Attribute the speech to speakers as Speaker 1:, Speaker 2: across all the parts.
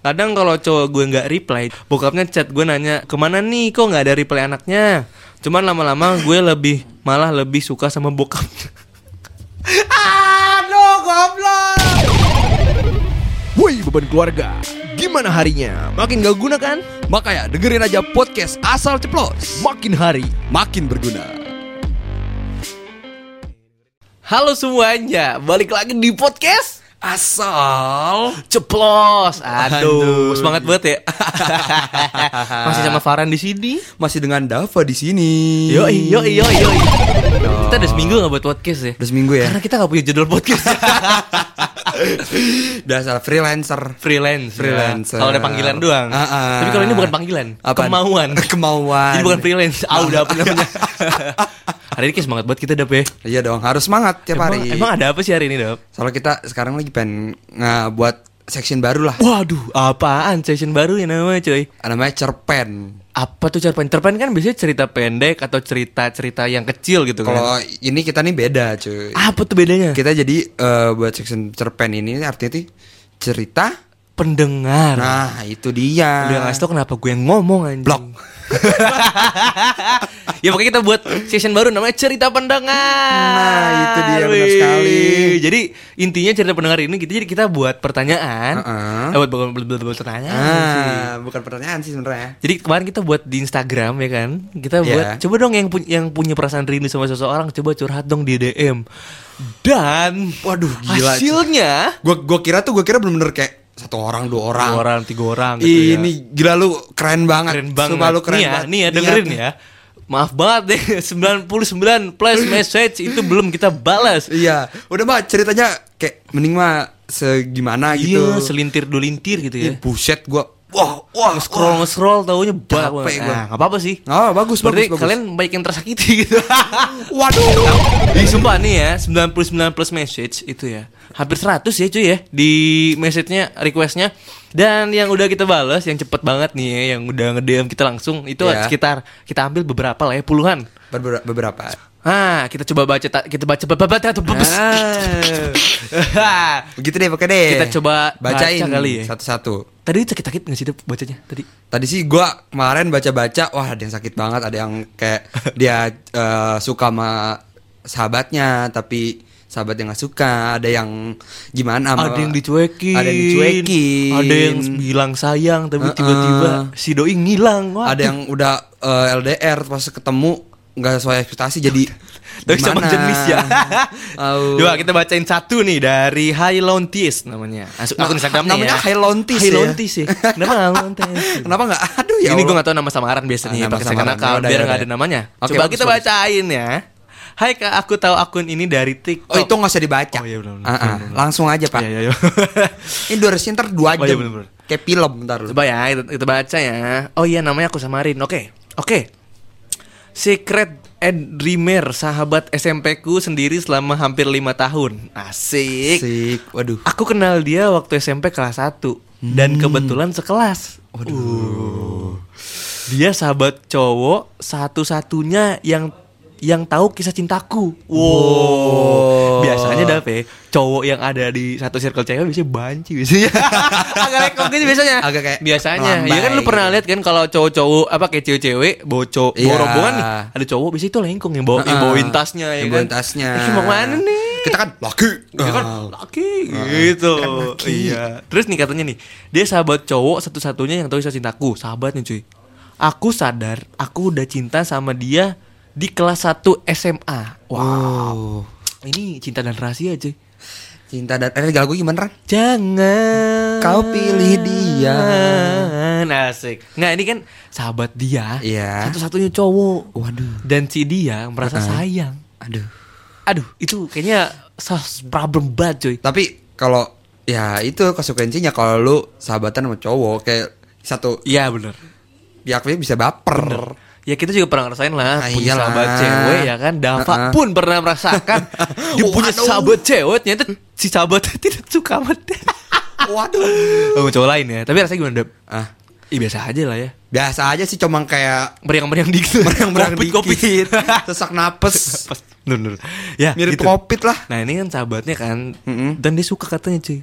Speaker 1: Kadang kalau cowok gue nggak reply, bokapnya chat gue nanya kemana nih, kok nggak ada reply anaknya. Cuman lama-lama gue malah lebih suka sama bokapnya.
Speaker 2: Aduh, goblok. Woi, beban keluarga, gimana harinya? Makin gak guna kan?
Speaker 3: Makanya dengerin aja podcast Asal Ceplos.
Speaker 2: Makin hari
Speaker 3: Makin berguna.
Speaker 1: Halo semuanya, balik lagi di podcast
Speaker 3: Asal
Speaker 1: Ceplos.
Speaker 3: Aduh.
Speaker 1: Semangat banget ya. Masih sama Farhan di sini.
Speaker 3: masih dengan Dava di sini.
Speaker 1: Yoi. Kita udah seminggu gak buat podcast ya.
Speaker 3: Udah seminggu ya.
Speaker 1: Karena kita gak punya judul podcast.
Speaker 3: Biasa freelancer.
Speaker 1: Freelance. Kalau ada panggilan doang. Tapi kalau ini bukan panggilan.
Speaker 3: Apaan?
Speaker 1: Kemauan. Jadi bukan freelance. Udah apa namanya. Hari ini kayak semangat banget kita Dap ya.
Speaker 3: Iya dong, harus semangat tiap hari.
Speaker 1: Emang ada apa sih hari ini Dap?
Speaker 3: Soalnya kita sekarang lagi pengen buat section baru lah.
Speaker 1: Waduh, apaan session baru ya namanya cuy?
Speaker 3: Namanya cerpen.
Speaker 1: Apa tuh cerpen? Cerpen kan biasanya cerita pendek atau cerita-cerita yang kecil gitu kan.
Speaker 3: Kalau ini kita nih beda cuy.
Speaker 1: Apa tuh bedanya?
Speaker 3: Kita jadi buat section cerpen ini artinya tuh cerita
Speaker 1: Pendengar.
Speaker 3: Nah itu dia.
Speaker 1: Udah ngasih tau kenapa gue yang ngomong anjing.
Speaker 3: Blok.
Speaker 1: Ya pokoknya kita buat session baru namanya cerita pendengar.
Speaker 3: Nah itu dia, benar sekali.
Speaker 1: Jadi intinya cerita pendengar ini kita buat pertanyaan. Buat pertanyaan.
Speaker 3: Bukan pertanyaan sih sebenarnya.
Speaker 1: Jadi kemarin kita buat di Instagram ya kan. Kita buat coba dong yang punya perasaan rindu sama seseorang coba curhat dong di DM. Dan
Speaker 3: waduh gila.
Speaker 1: Hasilnya
Speaker 3: Gue kira bener-bener kayak 1 orang, 2 orang,
Speaker 1: 2 orang, 3 orang gitu.
Speaker 3: Ini gila lu keren banget.
Speaker 1: Sumpah lu keren banget. Nih ya dengerin ya. Maaf banget deh 99 plus message itu belum kita balas.
Speaker 3: Iya. Udah mah ceritanya kayak mending mah segimana gitu.
Speaker 1: Iya, selintir dulintir gitu ya.
Speaker 3: Buset gua. Wah,
Speaker 1: scroll taunya banget. Nah, enggak apa-apa sih.
Speaker 3: Bagus.
Speaker 1: Berarti kalian baik yang tersakiti gitu.
Speaker 3: Waduh.
Speaker 1: Di sumpah nih ya, 99 plus message itu ya. Hampir 100 ya cuy ya di message-nya, request-nya. Dan yang udah kita balas, yang cepet banget nih ya, yang udah nge-DM kita langsung itu sekitar kita ambil beberapa lah ya, puluhan.
Speaker 3: Beberapa.
Speaker 1: Kita coba baca
Speaker 3: Begitu deh, pakai deh.
Speaker 1: Kita coba
Speaker 3: bacain
Speaker 1: baca kali ya.
Speaker 3: Satu-satu.
Speaker 1: Tadi sakit nggak sih bacanya tadi?
Speaker 3: Tadi sih gua kemarin baca-baca, wah ada yang sakit banget, ada yang kayak dia suka sama sahabatnya tapi sahabatnya nggak suka, ada yang gimana?
Speaker 1: Ada yang dicuekin,
Speaker 3: ada
Speaker 1: yang bilang sayang tapi tiba-tiba si doi ngilang.
Speaker 3: Ada yang udah LDR pas ketemu nggak sesuai ekspektasi jadi
Speaker 1: tapi sama jenis ya. Coba kita bacain satu nih dari Hailontis namanya. Akun Instagramnya
Speaker 3: namanya
Speaker 1: ya.
Speaker 3: Hailontis
Speaker 1: ya. Kenapa Hailontis?
Speaker 3: Kenapa nggak? Aduh ya.
Speaker 1: Ini gue nggak tahu nama samaran biasanya pakai second account biar nggak ada namanya. Coba kita bacain ya. Hai Kak, aku tahu akun ini dari TikTok.
Speaker 3: Oh itu nggak usah dibaca.
Speaker 1: Oh iya benar.
Speaker 3: Langsung aja Pak.
Speaker 1: Iya.
Speaker 3: Ini durasinya ntar 2 jam.
Speaker 1: Oh, iya, bener.
Speaker 3: Kayak film ntar.
Speaker 1: Coba ya kita baca ya. Oh iya namanya aku samarin. Oke. Secret Dreamer, sahabat SMP-ku sendiri selama hampir 5 tahun. Asik.
Speaker 3: Waduh.
Speaker 1: Aku kenal dia waktu SMP kelas 1 dan kebetulan sekelas.
Speaker 3: Waduh.
Speaker 1: Dia sahabat cowok satu-satunya yang tahu kisah cintaku.
Speaker 3: Wow.
Speaker 1: Biasanya dapet cowok yang ada di satu circle cewek biasanya banci biasanya. Agak lekong gitu biasanya.
Speaker 3: Agak kayak
Speaker 1: biasanya.
Speaker 3: melambai.
Speaker 1: Ya kan lu pernah lihat kan kalau cowok-cowok apa kayak cewek-cewek bawa rombongan nih. Ada cowok biasanya itu lengkong yang bawain tasnya ya kan.
Speaker 3: Bawain tasnya.
Speaker 1: Mau mana nih?
Speaker 3: Kita kan laki.
Speaker 1: Dia kan laki gitu.
Speaker 3: Kan laki.
Speaker 1: Iya. Terus nih katanya nih, dia sahabat cowok satu-satunya yang tahu kisah cintaku. Sahabatnya cuy. Aku sadar aku udah cinta sama dia di kelas 1 SMA. Wow. Ini cinta dan rahasia cuy.
Speaker 3: Cinta dan lagu gimana Ran?
Speaker 1: Jangan
Speaker 3: kau pilih dia.
Speaker 1: Asik. Nggak, ini kan sahabat dia.
Speaker 3: Iya.
Speaker 1: Satu-satunya cowok.
Speaker 3: Waduh.
Speaker 1: Dan si dia merasa sayang. Aduh, itu kayaknya problem banget cuy.
Speaker 3: Tapi kalau ya itu konsekuensinya kalau lu sahabatan sama cowok kayak satu.
Speaker 1: Iya benar.
Speaker 3: Pihaknya bisa baper.
Speaker 1: Bener. Ya kita juga pernah ngerasain lah punya
Speaker 3: iyalah.
Speaker 1: sahabat cewek ya kan. Dava pun pernah merasakan dia punya sahabat cewek ternyata si sahabatnya tidak suka sama dia.
Speaker 3: Waduh.
Speaker 1: Cowok lain ya. Tapi rasanya gimana Dap? Biasa aja lah ya.
Speaker 3: Biasa aja sih, cuma kayak
Speaker 1: meriang-meriang dikit.
Speaker 3: Meriang-meriang
Speaker 1: Covid.
Speaker 3: Sesak napes.
Speaker 1: Nur. Ya,
Speaker 3: mirip
Speaker 1: gitu.
Speaker 3: Covid lah.
Speaker 1: Nah, ini kan sahabatnya kan. Dan dia suka katanya, cuy.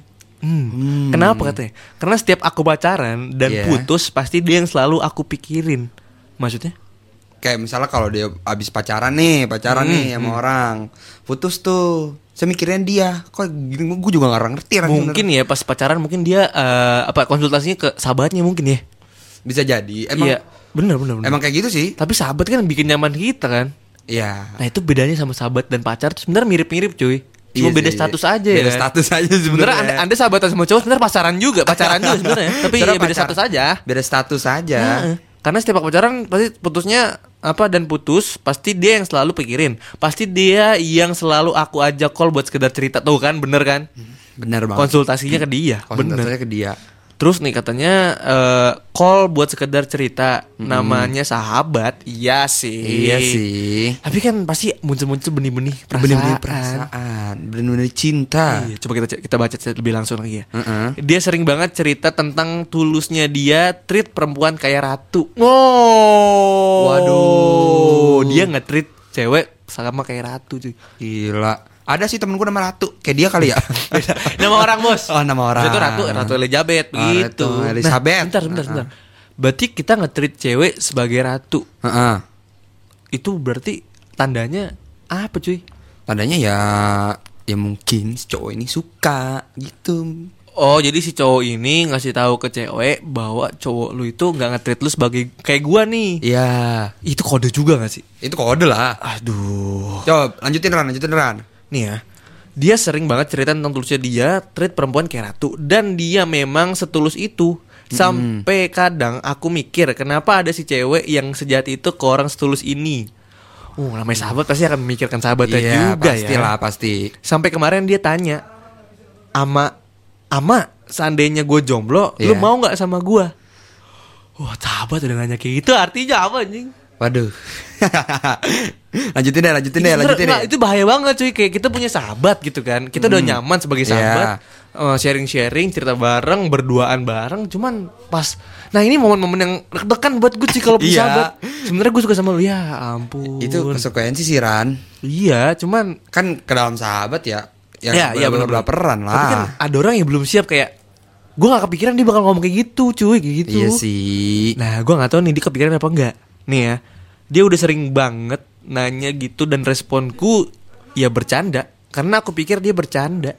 Speaker 1: Kenapa katanya? Karena setiap aku pacaran dan
Speaker 3: Iya.
Speaker 1: putus, pasti dia yang selalu aku pikirin. Maksudnya?
Speaker 3: Kayak misalnya kalau dia abis pacaran nih sama orang, putus tuh, saya mikirin dia. Kok gini, gue juga gak ngerti.
Speaker 1: Mungkin ya pas pacaran mungkin dia konsultasinya ke sahabatnya mungkin ya.
Speaker 3: Bisa jadi. Emang
Speaker 1: Iya, bener.
Speaker 3: emang kayak gitu sih.
Speaker 1: Tapi sahabat kan bikin nyaman kita kan.
Speaker 3: Iya.
Speaker 1: Nah itu bedanya sama sahabat dan pacar tuh sebenarnya mirip-mirip cuy. Cuma
Speaker 3: Iya
Speaker 1: beda
Speaker 3: sih.
Speaker 1: status aja ya.
Speaker 3: Beda
Speaker 1: kan?
Speaker 3: status aja
Speaker 1: Sebenarnya
Speaker 3: sebenarnya.
Speaker 1: anda sahabatan sama cowok sebenarnya pacaran juga sebenarnya. Tapi ya
Speaker 3: Sebenarnya
Speaker 1: beda
Speaker 3: pacar-
Speaker 1: status aja.
Speaker 3: Beda status aja.
Speaker 1: Heeh. Karena setiap aku pacaran pasti putusnya putus pasti dia yang selalu pikirin. Pasti dia yang selalu aku ajak call buat sekedar cerita tuh kan, bener kan?
Speaker 3: Bener banget.
Speaker 1: Konsultasinya ke dia.
Speaker 3: Konsultasinya ke dia.
Speaker 1: Terus nih katanya call buat sekedar cerita, namanya sahabat. Iya sih.
Speaker 3: Iya sih.
Speaker 1: Tapi kan pasti muncul-muncul benih-benih perasaan.
Speaker 3: Bener-bener perasaan, bener-bener cinta.
Speaker 1: Iya, coba kita baca lebih langsung lagi ya.
Speaker 3: Heeh.
Speaker 1: Dia sering banget cerita tentang tulusnya dia treat perempuan kayak ratu. Oh.
Speaker 3: Waduh.
Speaker 1: Dia nge-treat cewek sama kayak ratu cuy.
Speaker 3: Gila. Ada sih temen gue nama Ratu. Kayak dia kali ya.
Speaker 1: Nama orang bos.
Speaker 3: Oh, nama orang.
Speaker 1: Itu Ratu Elizabeth
Speaker 3: Oh,
Speaker 1: begitu.
Speaker 3: Ratu Elizabeth.
Speaker 1: Nah, bentar. Berarti kita nge-treat cewek sebagai ratu.
Speaker 3: Heeh.
Speaker 1: Itu berarti tandanya apa cuy?
Speaker 3: Tandanya ya mungkin si cowok ini suka gitu.
Speaker 1: Oh, jadi si cowok ini ngasih tahu ke cewek bahwa cowok lu itu nggak nge-treat lu sebagai kayak gua nih.
Speaker 3: Iya.
Speaker 1: Itu kode juga gak sih?
Speaker 3: Itu kode lah.
Speaker 1: Aduh.
Speaker 3: Coba lanjutin Ran.
Speaker 1: Nih ya. Dia sering banget cerita tentang tulusnya dia treat perempuan kayak ratu. Dan dia memang setulus itu. Sampai kadang aku mikir kenapa ada si cewek yang sejati itu ke orang setulus ini. Namanya sahabat pasti akan memikirkan sahabatnya
Speaker 3: Iya,
Speaker 1: juga
Speaker 3: pastilah,
Speaker 1: ya.
Speaker 3: pasti.
Speaker 1: Sampai kemarin dia tanya, Ama, seandainya gue jomblo, lu
Speaker 3: Iya.
Speaker 1: mau nggak sama gue? Wah, sahabat udah nanya kayak gitu, artinya apa anjing?
Speaker 3: Waduh. lanjutin deh.
Speaker 1: Nggak, itu bahaya banget cuy. Kayak kita punya sahabat gitu kan. Kita udah nyaman sebagai sahabat. Sharing-sharing, cerita bareng, berduaan bareng. Cuman pas, nah ini momen-momen yang deg-degan buat gue sih kalau punya
Speaker 3: Iya.
Speaker 1: sahabat. Sebenarnya gue suka sama lu, ya ampun.
Speaker 3: Itu konsekuensi sih Ran.
Speaker 1: Iya, cuman
Speaker 3: Kan ke dalam sahabat ya.
Speaker 1: Iya, bener-bener.
Speaker 3: Berperan lah.
Speaker 1: tapi kan ada orang yang belum siap kayak gue gak kepikiran dia bakal ngomong kayak gitu cuy, kayak gitu.
Speaker 3: Iya sih.
Speaker 1: Nah, gue gak tahu nih dia kepikiran apa enggak. Nih ya, dia udah sering banget nanya gitu dan responku ya bercanda. Karena aku pikir dia bercanda.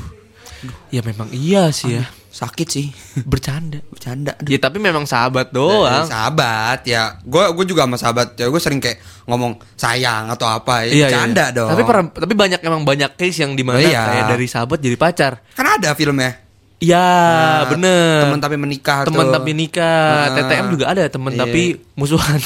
Speaker 1: Ya memang iya sih ya.
Speaker 3: Sakit sih.
Speaker 1: Bercanda.
Speaker 3: Bercanda.
Speaker 1: Ya tapi memang sahabat doang.
Speaker 3: Sahabat ya. Gue juga sama sahabat ya. Gue sering kayak ngomong sayang atau apa ya. Bercanda dong.
Speaker 1: Tapi banyak case yang dimana
Speaker 3: Oh, iya.
Speaker 1: kayak dari sahabat jadi pacar.
Speaker 3: Kan ada filmnya.
Speaker 1: Iya,
Speaker 3: Nah,
Speaker 1: bener.
Speaker 3: Teman tapi menikah
Speaker 1: Teman
Speaker 3: tuh.
Speaker 1: tapi nikah.
Speaker 3: Heeh.
Speaker 1: TTM juga ada teman
Speaker 3: Iya.
Speaker 1: tapi musuhan.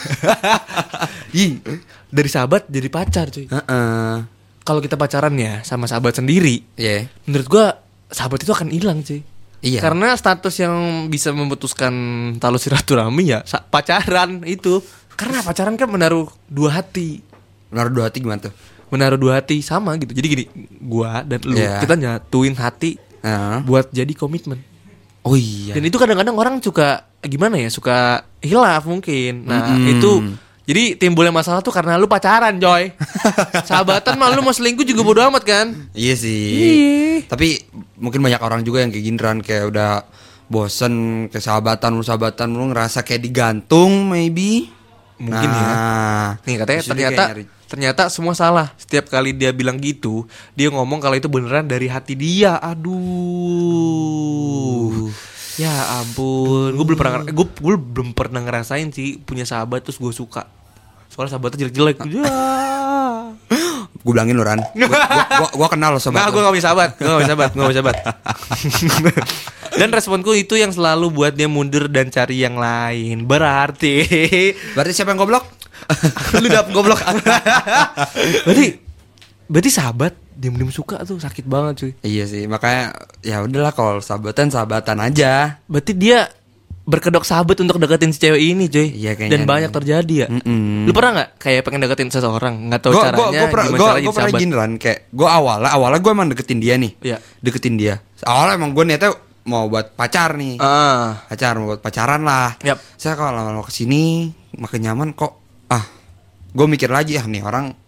Speaker 1: Ih, dari sahabat jadi pacar cuy.
Speaker 3: Heeh.
Speaker 1: Kalau kita pacaran ya sama sahabat sendiri,
Speaker 3: Iya.
Speaker 1: menurut gua sahabat itu akan hilang cuy.
Speaker 3: Iya.
Speaker 1: Karena status yang bisa memutuskan tali silaturahmi ya pacaran itu. Karena pacaran kan menaruh dua hati.
Speaker 3: Menaruh dua hati gimana tuh?
Speaker 1: Menaruh dua hati sama gitu. Jadi gini, gua dan lu
Speaker 3: Iya.
Speaker 1: kita nyatuin hati
Speaker 3: Heeh.
Speaker 1: buat jadi komitmen.
Speaker 3: Oh iya.
Speaker 1: Dan itu kadang-kadang orang suka gimana ya, suka hilaf mungkin. Nah,
Speaker 3: Mm-mm.
Speaker 1: itu jadi timbulnya masalah tuh karena lu pacaran, Joy. Sahabatan mah lu mau selingkuh juga bodo amat kan?
Speaker 3: Iya sih.
Speaker 1: Iya.
Speaker 3: Tapi mungkin banyak orang juga yang kayak giniran, kayak udah bosen ke sahabatan lu ngerasa kayak digantung maybe.
Speaker 1: Mungkin ya. Nih katanya
Speaker 3: terus dia kayak
Speaker 1: ternyata semua salah. Setiap kali dia bilang gitu, dia ngomong kalau itu beneran dari hati dia. Aduh. Ya ampun, gue belum pernah ngerasain sih punya sahabat terus gue suka. Soalnya sahabatnya jelek-jelek. Ya.
Speaker 3: Gue bilangin lu Ran. Gua kenal lo sama
Speaker 1: Nah, gue gak punya sahabat. Dan responku itu yang selalu buat dia mundur dan cari yang lain. Berarti
Speaker 3: siapa yang goblok?
Speaker 1: lu dapet goblok. berarti sahabat diam-diam suka tuh sakit banget cuy.
Speaker 3: Iya sih, makanya ya udahlah kalau sahabatan aja.
Speaker 1: Berarti dia berkedok sahabat untuk deketin si cewek ini cuy.
Speaker 3: Iya, kayaknya
Speaker 1: Dan banyak terjadi ya.
Speaker 3: Mm-mm.
Speaker 1: Lu pernah nggak kayak pengen deketin seseorang nggak tahu caranya
Speaker 3: Gue
Speaker 1: gimana caranya jadi
Speaker 3: pernah
Speaker 1: sahabat?
Speaker 3: gini Ran, kayak gue awalnya gue emang deketin dia nih.
Speaker 1: Iya.
Speaker 3: Deketin dia. Awalnya emang gue niatnya mau buat pacar nih. Mau buat pacaran lah.
Speaker 1: Yap.
Speaker 3: Saya kalau lama-lama kesini makin nyaman kok. Gue mikir lagi nih orang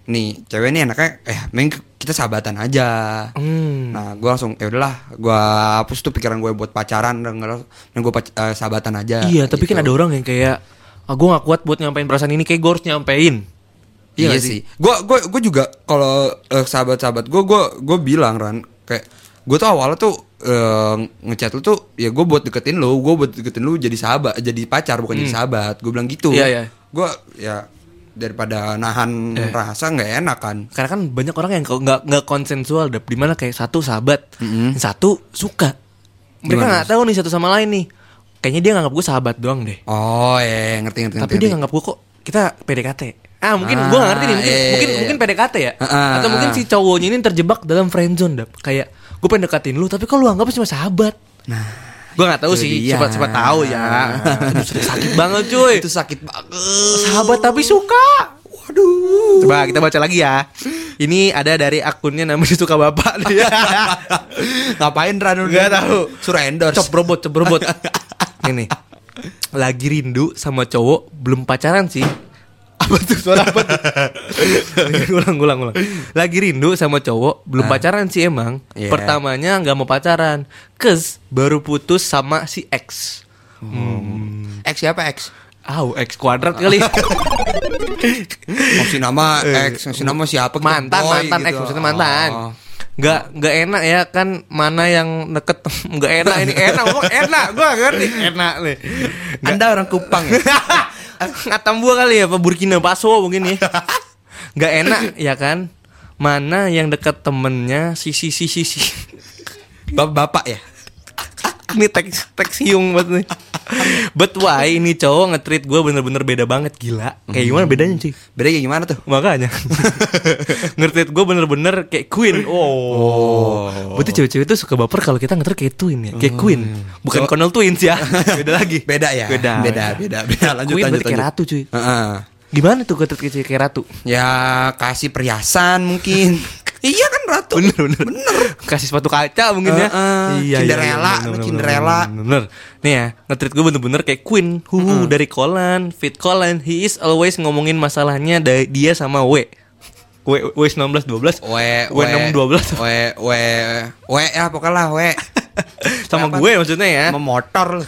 Speaker 3: nih cewek nih enaknya mending kita sahabatan aja. Nah gue langsung ya udahlah, gue hapus tuh pikiran gue buat pacaran dan gue sahabatan aja.
Speaker 1: Iya, tapi
Speaker 3: gitu.
Speaker 1: kan ada orang yang kayak gue gak kuat buat nyampein perasaan ini, kayak gue harus nyampein.
Speaker 3: Iya sih. Gue juga kalau sahabat-sahabat gue bilang Ran, kayak gue tuh awalnya tuh ngechat lu tuh ya gue buat deketin lu jadi sahabat, jadi pacar bukan jadi sahabat. Gue bilang gitu.
Speaker 1: Iya.
Speaker 3: Gue ya daripada nahan rasa nggak enak kan.
Speaker 1: Karena kan banyak orang yang nggak konsensual, dimana kayak satu sahabat, satu suka. Mereka nggak tahu nih satu sama lain nih. Kayaknya dia nganggap gue sahabat doang deh.
Speaker 3: Oh ngerti.
Speaker 1: Tapi dia nganggap gue kok kita PDKT. Mungkin gue nggak ngerti nih. Mungkin PDKT ya. Atau mungkin si cowoknya ini terjebak dalam friendzone, Dap. Kayak gue pengen deketin lu, tapi kok lu anggap cuma sahabat. Nah, gue nggak tahu sih. Siapa tahu ya. Sakit banget cuy.
Speaker 3: Itu sakit banget.
Speaker 1: Sahabat tapi suka. Waduh. Coba kita baca lagi ya. Ini ada dari akunnya namanya Suka Bapak dia.
Speaker 3: Ngapain Ran?
Speaker 1: Gak tahu.
Speaker 3: Suruh endorse.
Speaker 1: Cop robot. Ini lagi rindu sama cowok, belum pacaran sih. Apa tuh suara apa tuh? Ulang. Lagi rindu sama cowok, belum pacaran sih emang.
Speaker 3: Yeah.
Speaker 1: Pertamanya nggak mau pacaran, baru putus sama si X.
Speaker 3: X siapa X?
Speaker 1: X kuadrat kali.
Speaker 3: Masih nama X, masih nama siapa?
Speaker 1: Mantan
Speaker 3: gitu.
Speaker 1: X maksudnya mantan. Nggak enak ya kan, mana yang deket. Nggak enak, ini enak, ngomong enak. Gue gak ngerti enak nih.
Speaker 3: Anda orang Kupang ya?
Speaker 1: Atambua kali ya, apa Burkina Faso mungkin ya. Nggak enak ya kan, mana yang deket temennya si.
Speaker 3: Bapak ya?
Speaker 1: Ini teks hiung banget nih. But why ini cowok nge-treat gue bener-bener beda banget, gila. Kayak gimana bedanya sih?
Speaker 3: Beda kayak gimana tuh?
Speaker 1: Makanya nge-treat gue bener-bener kayak queen. Berarti cewek-cewek tuh suka baper kalau kita nge-treat kayak twin ya, kayak queen. Bukan Connell Twins ya. Beda lagi.
Speaker 3: Beda ya? Beda. Lanjut.
Speaker 1: Queen berarti kayak ratu cuy. Gimana tuh nge-treat kayak ratu?
Speaker 3: Ya kasih perhiasan mungkin. Iya kan ratu.
Speaker 1: Bener. Kasih sepatu kaca mungkin ya. Iya.
Speaker 3: Cinderella.
Speaker 1: Bener. Nih ya, nge-treat gue bener-bener kayak queen. Dari Kolan, Fit Kolan. He is always ngomongin masalahnya dia sama W 1912. W 612.
Speaker 3: W ya pokoknya lah W.
Speaker 1: Sama gue maksudnya ya.
Speaker 3: Memotor.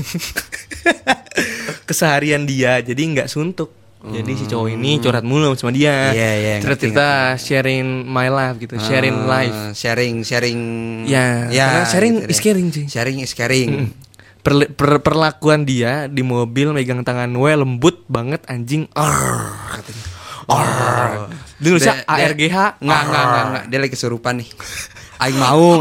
Speaker 1: Keseharian dia jadi nggak suntuk. Jadi si cowok ini curhat mulu sama dia. Cerita sharing my life gitu, sharing life.
Speaker 3: Sharing.
Speaker 1: Ya, karena sharing is caring sih.
Speaker 3: Sharing is caring.
Speaker 1: Perlakuan dia di mobil megang tangan W lembut banget anjing. Di Indonesia ARGH.
Speaker 3: Enggak. Dia lagi kesurupan nih. Aing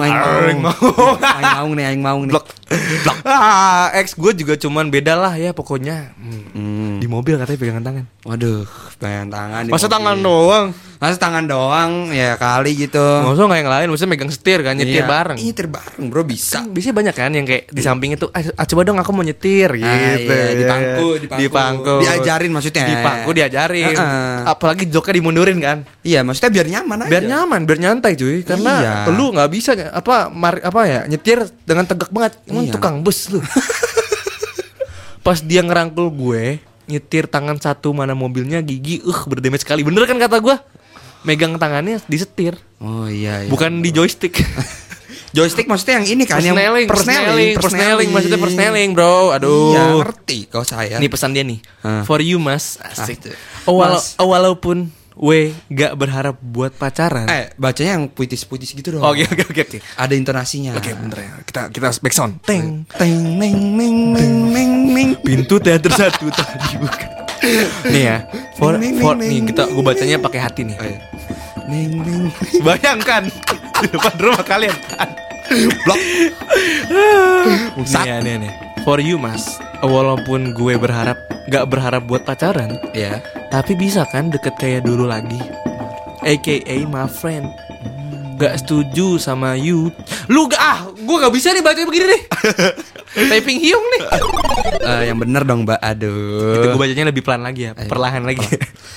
Speaker 3: mau nih.
Speaker 1: Blok. Ex gue juga cuman beda lah ya pokoknya. Di mobil katanya pegangan tangan.
Speaker 3: Waduh, pegangan tangan.
Speaker 1: Masa tangan doang?
Speaker 3: Masa tangan doang ya kali gitu.
Speaker 1: Maksudnya nggak yang lain, maksudnya megang setir kan, nyetir bareng.
Speaker 3: Nyetir bareng bro bisa.
Speaker 1: Biasanya banyak kan yang kayak di samping itu, coba dong aku mau nyetir gitu.
Speaker 3: Di pangku. Diajarin maksudnya.
Speaker 1: Di pangku diajarin. Apalagi joknya dimundurin kan.
Speaker 3: Iya, maksudnya biar nyaman aja.
Speaker 1: Biar nyaman, biar nyantai cuy. Karena lu nggak bisa nyetir dengan tegak banget. Emang tukang bus lu. Pas dia ngerangkul gue, nyetir tangan satu mana mobilnya gigi berdamage sekali. Bener kan kata gue? Megang tangannya disetir.
Speaker 3: Oh iya.
Speaker 1: Bukan di joystick.
Speaker 3: Joystick maksudnya yang ini kan,
Speaker 1: persneling maksudnya persneling, bro. Aduh.
Speaker 3: Iya, ngerti kau saya.
Speaker 1: Ini pesan dia nih. For you mas. Asik. Walaupun gak berharap buat pacaran.
Speaker 3: Bacanya yang puitis-puitis gitu dong.
Speaker 1: Oke.
Speaker 3: Ada intonasinya.
Speaker 1: Oke, bener ya. Kita back sound. Teng.
Speaker 3: Neng.
Speaker 1: Pintu teater satu tadi bukan. Nih ya. For nih gue bacanya pakai hati nih.
Speaker 3: Neng.
Speaker 1: Bayangkan di depan rumah kalian. Blok. Nih. For you mas. Walaupun gue gak berharap buat pacaran.
Speaker 3: Iya.
Speaker 1: Tapi bisa kan deket kayak dulu lagi. AKA my friend. Gak setuju sama you. Lu gue gak bisa nih bacanya begini nih. Typing hiung nih.
Speaker 3: Yang bener dong mbak. Aduh.
Speaker 1: Itu gue bacanya lebih pelan lagi ya. Perlahan lagi.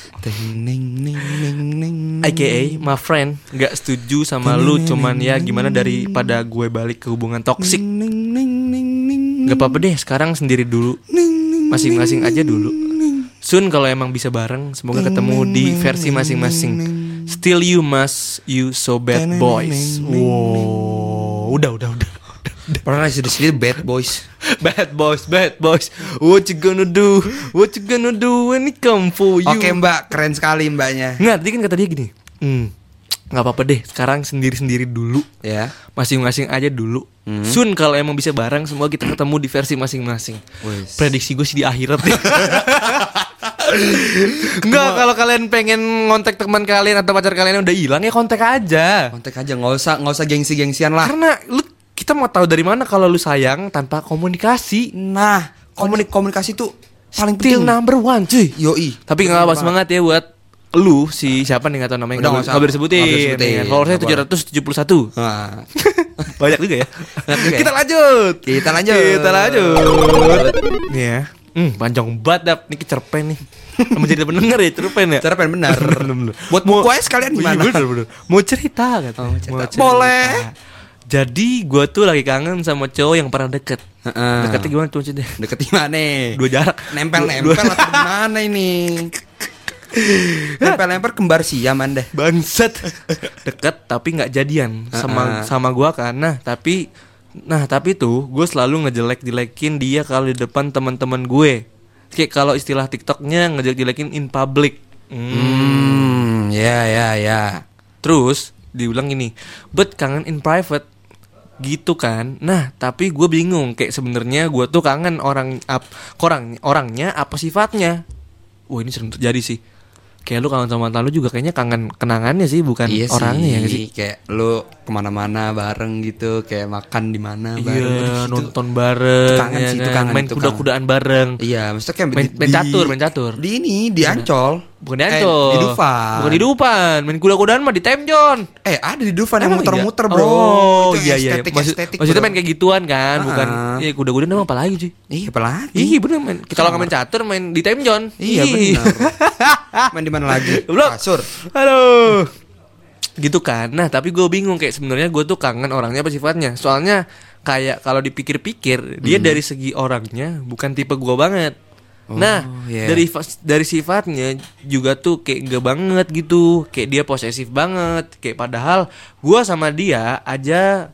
Speaker 1: AKA my friend. Gak setuju sama lu. Cuman ya gimana daripada gue balik ke hubungan toksik. Gak apa-apa deh sekarang sendiri dulu. Masing-masing aja dulu. Soon kalau emang bisa bareng, semoga ketemu di versi masing-masing. Still you must, you so bad boys. Wow, udah.
Speaker 3: Pernah sudah sini bad boys.
Speaker 1: Bad boys. What you gonna do when it come for you?
Speaker 3: Oke mbak, keren sekali mbaknya.
Speaker 1: Nggak, tadi kan kata dia gini. Nggak apa-apa deh, sekarang sendiri-sendiri dulu.
Speaker 3: Ya.
Speaker 1: Masing-masing aja dulu. Soon kalau emang bisa bareng, semoga kita ketemu di versi masing-masing.
Speaker 3: Wes.
Speaker 1: Prediksi gue sih di akhirat deh. Enggak, kalau kalian pengen ngontek teman kalian atau pacar kalian yang udah hilang ya kontak aja.
Speaker 3: Kontak aja, nggak usah gengsi-gengsian lah.
Speaker 1: Karena kita mau tahu dari mana kalau lu sayang tanpa komunikasi.
Speaker 3: Nah, komunikasi tuh paling
Speaker 1: Still
Speaker 3: penting.
Speaker 1: number one cuy.
Speaker 3: Yoi.
Speaker 1: Tapi nggak apa semangat ya buat lu si siapa nih nggak tahu namanya,
Speaker 3: Udah,
Speaker 1: nggak boleh disebutin. Followersnya 771.
Speaker 3: Nah.
Speaker 1: Banyak juga ya.
Speaker 3: Banyak juga ya.
Speaker 1: Kita lanjut.
Speaker 3: Kita lanjut.
Speaker 1: Nih ya. Panjang banget Dap. Ini kecerpen nih. Menjadi pendengar ya cerpen ya.
Speaker 3: Cerpen benar. Buat buku aja sekalian gimana?
Speaker 1: Bener. Mau cerita kan?
Speaker 3: Boleh.
Speaker 1: Jadi gue tuh lagi kangen sama cowok yang pernah deket. Deketnya gimana tuh maksudnya?
Speaker 3: Deket di mana?
Speaker 1: Dua jarak.
Speaker 3: Nempel atau gimana ini? Nempel kembar siam Anda.
Speaker 1: Bangsat. Deket tapi nggak jadian sama gue kan. Tapi tuh gue selalu ngejelek-jelekin dia kalau di depan teman-teman gue. Kayak kalau istilah TikToknya ngejelek-jelekin in public.
Speaker 3: Ya.
Speaker 1: Terus diulang gini, but kangen in private gitu kan. Nah tapi gue bingung, kayak sebenarnya gue tuh kangen orangnya apa sifatnya. Wah ini sering terjadi sih. Kayak lu kangen sama mantan lu juga kayaknya kangen kenangannya sih, bukan
Speaker 3: iya
Speaker 1: orangnya ya sih.
Speaker 3: Kayak lu kemana-mana bareng gitu, kayak makan di mana bareng.
Speaker 1: Iya, nonton bareng.
Speaker 3: Kangen
Speaker 1: ya
Speaker 3: sih, itu
Speaker 1: kan?
Speaker 3: kangen.
Speaker 1: Main kuda-kudaan bareng.
Speaker 3: Iya, maksudnya kayak
Speaker 1: main catur.
Speaker 3: Di ini, di Ancol.
Speaker 1: Bukan di Ancol.
Speaker 3: Di Dufan.
Speaker 1: Bukan di Dufan. Main kuda-kudaan mah di Temjon.
Speaker 3: Ada di Dufan yang
Speaker 1: Emang
Speaker 3: muter-muter,
Speaker 1: iya?
Speaker 3: bro.
Speaker 1: Oh
Speaker 3: Itu
Speaker 1: iya.
Speaker 3: estetik,
Speaker 1: Maksudnya
Speaker 3: bro.
Speaker 1: main kayak gituan kan, bukan. Iya, kuda-kudaan emang apa lagi sih?
Speaker 3: Iya, apa lagi?
Speaker 1: Iya bener main. Kalau nggak main catur main di Temjon.
Speaker 3: Iya, benar. Main di mana lagi?
Speaker 1: Goblok.
Speaker 3: Kasur.
Speaker 1: Aduh. Gitu kan. Nah, tapi gue bingung kayak sebenarnya gue tuh kangen orangnya apa sifatnya. Soalnya kayak kalau dipikir-pikir dia dari segi orangnya bukan tipe gue banget.
Speaker 3: Yeah.
Speaker 1: Dari sifatnya juga tuh kayak enggak banget gitu. Kayak dia posesif banget. Kayak padahal gue sama dia aja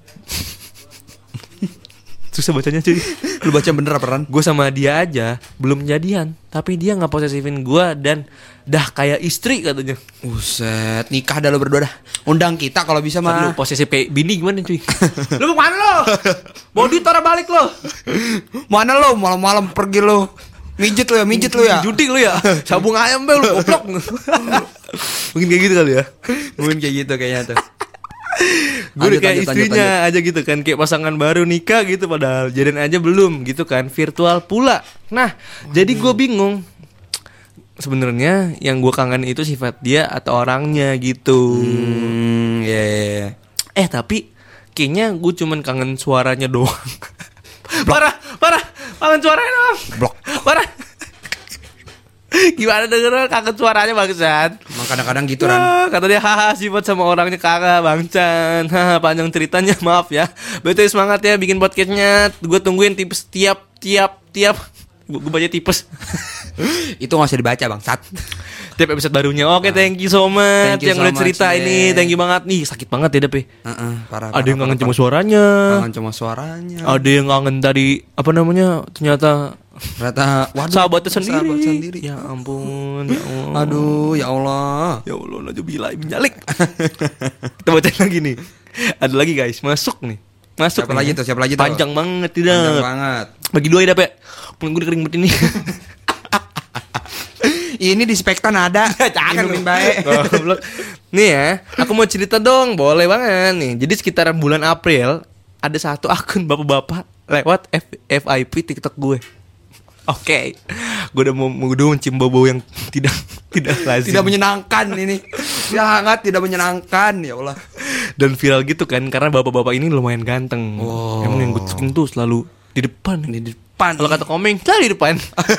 Speaker 1: susah bacanya cuy.
Speaker 3: Lu baca bener apa Ran?
Speaker 1: Gue sama dia aja belum jadian, tapi dia nggak posesifin gue dan dah kayak istri katanya.
Speaker 3: Buset, nikah dah lo berdua dah. Undang kita kalau bisa
Speaker 1: Lu
Speaker 3: mah.
Speaker 1: posesif kayak bini gimana cuy? Lu mau mana lo? Mau duit tora balik lo?
Speaker 3: Mana lo malam-malam pergi lo? Mijit lo ya.
Speaker 1: Judi lu ya? Sabung ayam be lu goblok. Mungkin kayak gitu kali ya.
Speaker 3: Mungkin kayak gitu kayaknya tuh.
Speaker 1: Gue kayak istrinya aja gitu kan, kayak pasangan baru nikah gitu padahal jadian aja belum gitu kan, virtual pula. Nah, jadi gue bingung. Sebenarnya yang gue kangen itu sifat dia atau orangnya gitu.
Speaker 3: Yeah.
Speaker 1: Tapi kayaknya gue cuman kangen suaranya doang. Parah. Kangen suaranya doang.
Speaker 3: Blok.
Speaker 1: Parah. Gimana denger kangen suaranya bangsat.
Speaker 3: Emang kadang-kadang gitu Ran.
Speaker 1: Kata dia haha sifat sama orangnya kagak bangcan. Haha panjang ceritanya maaf ya. Betul semangat ya bikin podcastnya. Gue tungguin tipes tiap. Gue baca tipes.
Speaker 3: Itu gak usah dibaca bangsat.
Speaker 1: Tiap episode barunya. Oke, thank you so much
Speaker 3: Thank you
Speaker 1: yang
Speaker 3: so
Speaker 1: udah
Speaker 3: much,
Speaker 1: cerita ini. Thank you banget nih. Sakit banget ya Dep.
Speaker 3: Parah.
Speaker 1: Ada yang kangen cuma suaranya.
Speaker 3: Kangen cuma suaranya.
Speaker 1: Ada yang kangen tadi apa namanya? Ternyata
Speaker 3: waduh,
Speaker 1: sahabatnya sendiri.
Speaker 3: Sahabat sendiri.
Speaker 1: Ya ampun, ya Allah.
Speaker 3: Aduh, ya Allah.
Speaker 1: Ya Allah, najubillah menyalik. Kita bacain lagi nih. Ada lagi guys, masuk nih. Masuk.
Speaker 3: Siapa lagi tuh?
Speaker 1: Panjang banget tidak.
Speaker 3: Panjang banget.
Speaker 1: Bagi dua ya, Dap ya. Pun gue kering banget ini.
Speaker 3: Ini di Spektan ada.
Speaker 1: Jangan
Speaker 3: minumin baik.
Speaker 1: Goblok. Nih ya, aku mau cerita dong, boleh banget nih. Jadi sekitaran bulan April ada satu akun bapak-bapak lewat FYP TikTok gue. Oke, gue udah mau mencium bau yang tidak lazim,
Speaker 3: Tidak menyenangkan ini. Sangat tidak menyenangkan ya Allah.
Speaker 1: dan viral gitu kan karena bapak-bapak ini lumayan ganteng.
Speaker 3: Oh.
Speaker 1: Emang yang gue suka tuh selalu di depan. Kalau kata komeng selalu di depan.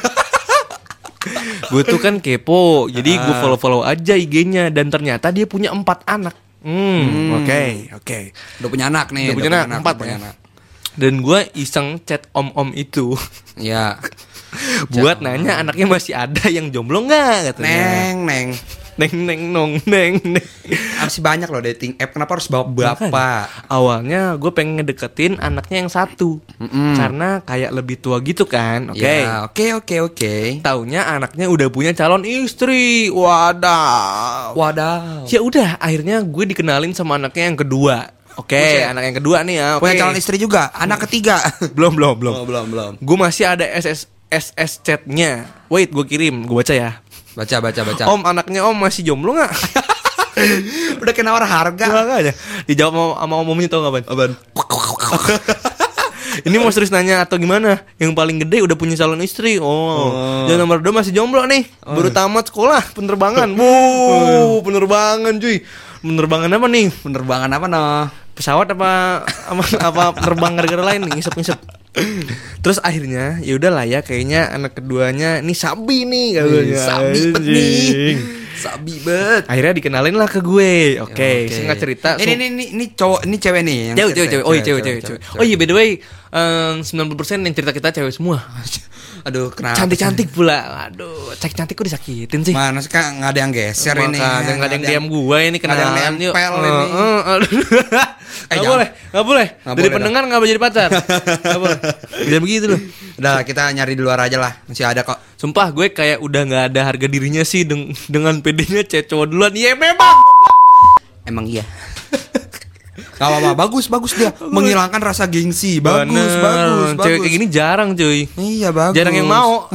Speaker 1: Gue tuh kan kepo, jadi gue follow aja IG-nya dan ternyata dia punya 4 anak. Oke.
Speaker 3: Udah punya anak nih.
Speaker 1: Udah punya anak 4 ya. Dan gue iseng chat om-om itu.
Speaker 3: Ya.
Speaker 1: buat nanya anaknya masih ada yang jomblo nggak katanya.
Speaker 3: Neng.
Speaker 1: Neng.
Speaker 3: Masih banyak loh dating app. Kenapa harus bawa bapak?
Speaker 1: Makanya, awalnya gue pengen ngedeketin anaknya yang satu, karena kayak lebih tua gitu kan. Oke.
Speaker 3: Ya, oke.
Speaker 1: Taunya anaknya udah punya calon istri. Wadaw. Ya udah, akhirnya gue dikenalin sama anaknya yang kedua. Oke, anak yang kedua nih ya.
Speaker 3: Punya calon istri juga. Anak ketiga.
Speaker 1: Belum.
Speaker 3: Oh, belum.
Speaker 1: Gue masih ada SS chatnya. Wait, gue kirim, gue baca ya.
Speaker 3: Baca.
Speaker 1: Om, anaknya om masih jomblo nggak?
Speaker 3: Udah kena war harga.
Speaker 1: Makanya dijawab sama omnya, tau nggak, Ban? Ini mau serius nanya atau gimana? Yang paling gede udah punya calon istri. Yang nomor 2 masih jomblo nih. Baru tamat sekolah penerbangan. Penerbangan cuy. Penerbangan apa nih?
Speaker 3: Penerbangan apa noh?
Speaker 1: Pesawat apa penerbang gara-gara lain nih, ngisep. Terus akhirnya ya udahlah ya, kayaknya anak keduanya nih sabi nih katanya.
Speaker 3: Sabi bet.
Speaker 1: Akhirnya dikenalin lah ke gue. Oke. Singkat cerita.
Speaker 3: Ini cowok, ini cewek nih yang
Speaker 1: cewek. Oh iya cewek. Oh iya, by the way, 90% yang cerita kita cewek semua.
Speaker 3: Aduh, kenapa?
Speaker 1: Cantik-cantik pula. Aduh, cantik kok disakitin sih.
Speaker 3: Mana sih, Kak? Nggak ada yang geser ini.
Speaker 1: Nggak ada yang diam gue ini, kenalan yuk. Nggak boleh. Dari pendengar nggak boleh jadi pacar. Nggak boleh. Bisa begitu loh.
Speaker 3: Udah, kita nyari di luar aja lah. Masih ada kok.
Speaker 1: Sumpah gue kayak udah nggak ada harga dirinya sih dengan pedenya cowok duluan. Iya memang.
Speaker 3: Emang iya. Gak apa-apa, bagus dia. Menghilangkan rasa gengsi. Bagus.
Speaker 1: Cewek kayak gini jarang cuy.
Speaker 3: Iya, bagus.
Speaker 1: Jarang yang mau.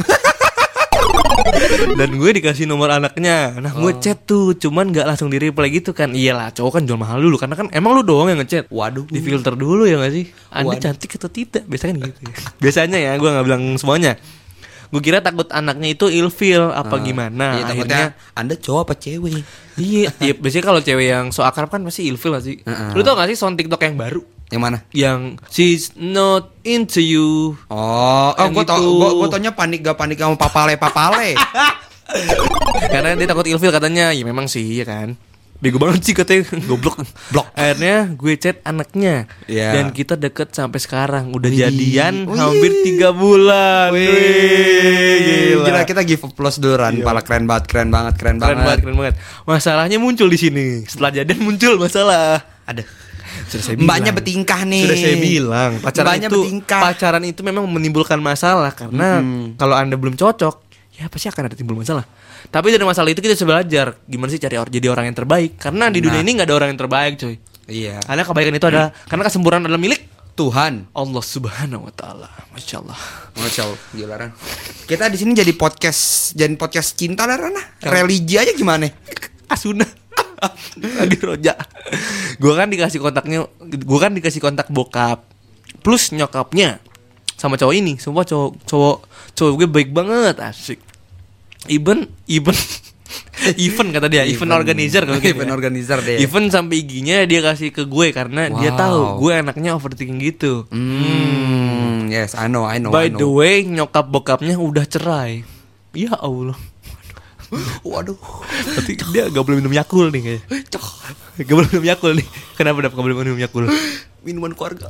Speaker 1: Dan gue dikasih nomor anaknya. Nah gue chat tuh, cuman gak langsung di reply gitu kan. Iyalah, cowok kan jual mahal dulu, karena kan emang lu doang yang ngechat.
Speaker 3: Waduh.
Speaker 1: Di filter dulu ya gak sih? Anda cantik atau tidak? Biasanya kan gitu ya. Biasanya ya, gue gak bilang semuanya. Gue kira takut anaknya itu ilfeel apa gimana.
Speaker 3: Iya, akhirnya Anda cowok apa cewek?
Speaker 1: Iya, biasanya kalau cewek yang so akrab kan pasti ilfeel gak sih? Lu tau gak sih sound TikTok yang baru?
Speaker 3: Yang mana?
Speaker 1: Yang she's not into you.
Speaker 3: Gue taunya panik sama papale.
Speaker 1: Karena dia takut ilfeel katanya. Ya memang sih, ya kan. Bego banget sih katanya. Goblok. Akhirnya gue chat anaknya. Dan kita deket sampai sekarang. Udah jadian hampir 3 bulan.
Speaker 3: Gila, kita give applause dulu Ran. Pala keren banget.
Speaker 1: Masalahnya muncul di sini. Setelah jadian muncul masalah.
Speaker 3: Ada. Mbaknya bertingkah nih.
Speaker 1: Sudah saya bilang, pacaran itu memang menimbulkan masalah. Karena kalau Anda belum cocok, ya pasti akan ada timbul masalah. Tapi dari masalah itu kita bisa belajar gimana sih jadi orang yang terbaik. Karena di dunia ini gak ada orang yang terbaik coy.
Speaker 3: Iya.
Speaker 1: Karena kebaikan itu adalah, karena kesempurnaan adalah milik
Speaker 3: Tuhan
Speaker 1: Allah Subhanahu wa taala. Masya Allah.
Speaker 3: Gila Ran. Kita di sini jadi podcast cinta lah Ran. Religi aja gimana?
Speaker 1: Asuna. Lagi roja. Gue kan dikasih kontak bokap plus nyokapnya sama cowok ini. Sumpah cowok gue baik banget, asik. Even kata dia, event organizer kalau gitu.
Speaker 3: Event organizer deh.
Speaker 1: Event sampai IG-nya dia kasih ke gue karena dia tahu gue anaknya overthinking gitu.
Speaker 3: Yes, I know.
Speaker 1: By the way, nyokap bokapnya udah cerai. Ya Allah.
Speaker 3: Waduh.
Speaker 1: Berarti dia gak boleh minum Yakult nih kayaknya. Gak boleh minum Yakult nih. Kenapa gak boleh minum Yakult?
Speaker 3: Minuman keluarga.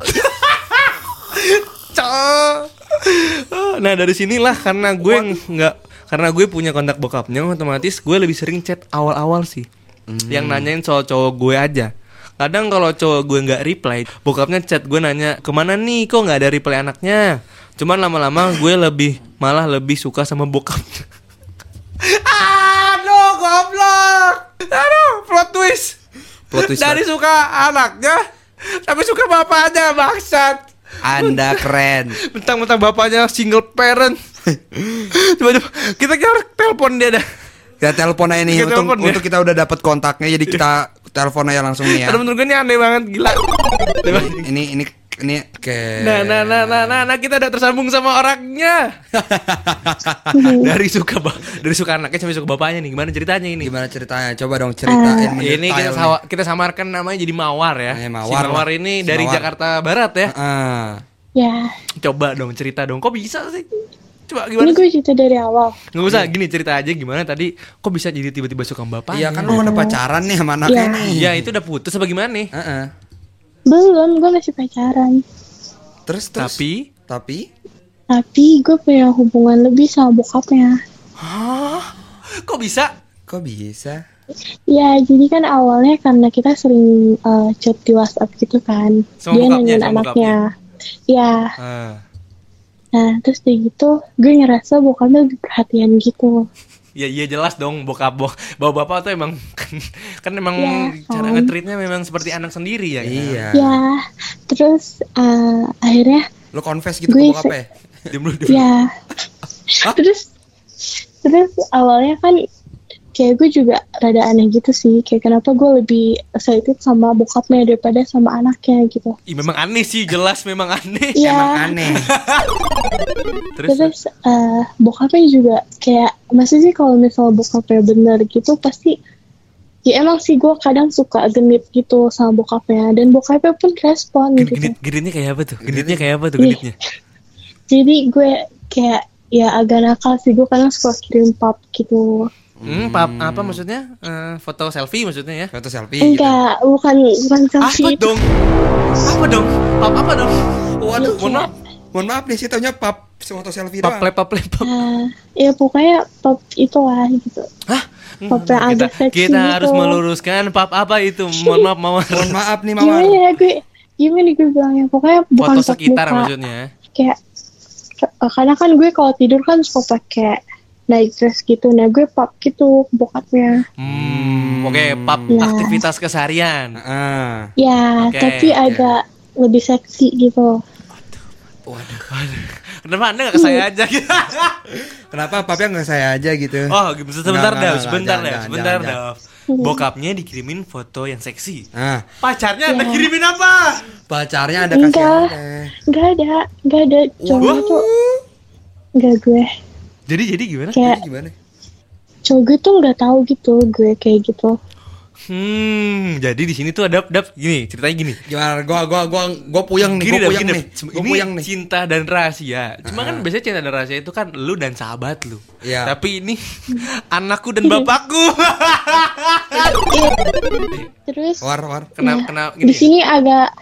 Speaker 1: Nah dari sinilah karena gue punya kontak bokapnya, otomatis gue lebih sering chat awal-awal sih. Yang nanyain soal cowok gue aja. Kadang kalau cowok gue nggak reply, bokapnya chat gue nanya kemana nih, kok nggak ada reply anaknya. Cuman lama-lama gue malah lebih suka sama bokapnya. Aduh goblok. Aduh plot twist. Dari suka anaknya tapi suka bapaknya, bangsat.
Speaker 3: Anda keren.
Speaker 1: Mentang-mentang bapaknya single parent. Coba kita harus telepon dia dah.
Speaker 3: Kita telepon aja nih untuk kita udah dapat kontaknya, jadi kita telepon aja langsung nih ya.
Speaker 1: Karena menurut gue ini aneh banget, gila.
Speaker 3: Ini kayak
Speaker 1: Nah, kita udah tersambung sama orangnya. dari suka anaknya sampai suka bapaknya nih. Gimana ceritanya ini?
Speaker 3: Coba dong ceritain.
Speaker 1: Ini kita samarkan namanya jadi Mawar ya. Mawar ini dari Jakarta Barat ya.
Speaker 4: Ya.
Speaker 1: Coba dong cerita dong. Kok bisa sih? Coba gimana?
Speaker 4: Ini gue cerita dari awal.
Speaker 1: Nggak usah gini, cerita aja gimana tadi. Kok bisa jadi tiba-tiba suka bapaknya?
Speaker 3: Iya kan lu udah pacaran nih sama anaknya nih.
Speaker 1: Iya itu udah putus apa gimana nih?
Speaker 4: Belum, gue masih pacaran.
Speaker 3: Terus. Tapi
Speaker 4: Tapi gue punya hubungan lebih sama bokapnya.
Speaker 1: Hah? Kok bisa?
Speaker 3: Kok bisa?
Speaker 4: Ya, jadi kan awalnya karena kita sering chat di WhatsApp gitu kan.
Speaker 1: Sama
Speaker 4: Dia
Speaker 1: bokapnya,
Speaker 4: nanyain
Speaker 1: sama
Speaker 4: anaknya. Ya,
Speaker 1: Ah.
Speaker 4: nah terus dari gitu gue ngerasa bokapnya lebih perhatian gitu.
Speaker 1: Ya iya jelas dong bapak tuh emang kan emang
Speaker 4: Ya,
Speaker 1: cara
Speaker 4: kan.
Speaker 1: nge-treatnya memang seperti anak sendiri ya kan?
Speaker 3: Iya.
Speaker 4: Ya, terus akhirnya
Speaker 3: Lo confess gitu
Speaker 4: Gue
Speaker 3: ke bokap ya?
Speaker 1: Diam dulu.
Speaker 4: ya, terus awalnya kan kayak gue juga rada aneh gitu sih, kayak kenapa gue lebih excited sama bokapnya daripada sama anaknya gitu.
Speaker 1: Ih, memang aneh sih, jelas memang aneh.
Speaker 3: Emang
Speaker 4: Iya,
Speaker 3: aneh.
Speaker 1: Terus
Speaker 4: bokapnya juga kayak, maksudnya sih kalau misalnya bokapnya bener gitu pasti, ya emang sih gue kadang suka genit gitu sama bokapnya, dan bokapnya pun respon gitu.
Speaker 1: genitnya kayak apa tuh? Genitnya kayak apa tuh
Speaker 4: Ih.
Speaker 1: genitnya?
Speaker 4: Jadi gue kayak ya agak nakal sih, gue kadang suka kirim pap gitu.
Speaker 1: Apa maksudnya? Foto selfie maksudnya ya?
Speaker 3: Foto selfie gitu.
Speaker 4: Enggak, bukan selfie.
Speaker 1: Apa dong? Apa dong? Apa dong?
Speaker 3: Waduh,
Speaker 1: Mohon maaf.
Speaker 3: Mohon maaf nih, saya taunya pap foto selfie
Speaker 1: Pap
Speaker 3: doang.
Speaker 1: pap.
Speaker 4: Ya pokoknya pop itu lah gitu.
Speaker 1: Hah?
Speaker 4: Pop yang agak seksi
Speaker 1: Kita
Speaker 4: gitu.
Speaker 1: harus meluruskan pap apa itu? Mohon maaf Mawar.
Speaker 3: Mohon maaf nih
Speaker 4: Gimana
Speaker 3: Mawar.
Speaker 4: ya gimana gue bilangnya, pokoknya bukan
Speaker 1: Foto
Speaker 4: pop
Speaker 1: sekitar
Speaker 4: muka.
Speaker 1: maksudnya.
Speaker 4: Kayak karena kan gue kalau tidur kan suka pakai night dress gitu, nah gue pop gitu ke bokapnya.
Speaker 1: Oke, pap
Speaker 4: Ya.
Speaker 1: aktivitas keseharian.
Speaker 3: Ah.
Speaker 4: Ya,
Speaker 1: Oke,
Speaker 4: tapi
Speaker 1: oke.
Speaker 4: agak lebih seksi gitu.
Speaker 3: Waduh.
Speaker 1: Kenapa Anda gak ke saya aja gitu?
Speaker 3: Kenapa papnya nggak saya aja gitu?
Speaker 1: Oh, sebentar
Speaker 3: Enggak,
Speaker 1: Dav, sebentar
Speaker 3: jangan,
Speaker 1: Dav.
Speaker 3: jangan.
Speaker 1: Bokapnya dikirimin foto yang seksi.
Speaker 3: Nah,
Speaker 1: Pacarnya Anda
Speaker 4: Ya.
Speaker 1: kirimin apa?
Speaker 3: pacarnya ada kasih
Speaker 4: Enggak,
Speaker 3: aneh.
Speaker 4: enggak ada cowok
Speaker 1: Wah.
Speaker 4: tuh, enggak gue.
Speaker 1: Jadi gimana?
Speaker 4: Kayak
Speaker 3: Jadi gimana?
Speaker 4: cowok gue tuh nggak tahu gitu gue kayak gitu.
Speaker 1: Jadi di sini tuh ada gini, ceritanya gini.
Speaker 3: Gimana? Gua puyeng nih,
Speaker 1: Gini,
Speaker 3: gua
Speaker 1: Dav,
Speaker 3: puyeng
Speaker 1: gini,
Speaker 3: nih.
Speaker 1: Dav.
Speaker 3: Gua
Speaker 1: Ini
Speaker 3: puyeng nih.
Speaker 1: cinta dan rahasia. Cuma kan biasanya cinta dan rahasia itu kan lu dan sahabat lu.
Speaker 3: Iya.
Speaker 1: Tapi ini anakku dan bapakku.
Speaker 4: Terus
Speaker 3: War.
Speaker 1: Kena
Speaker 4: di sini agak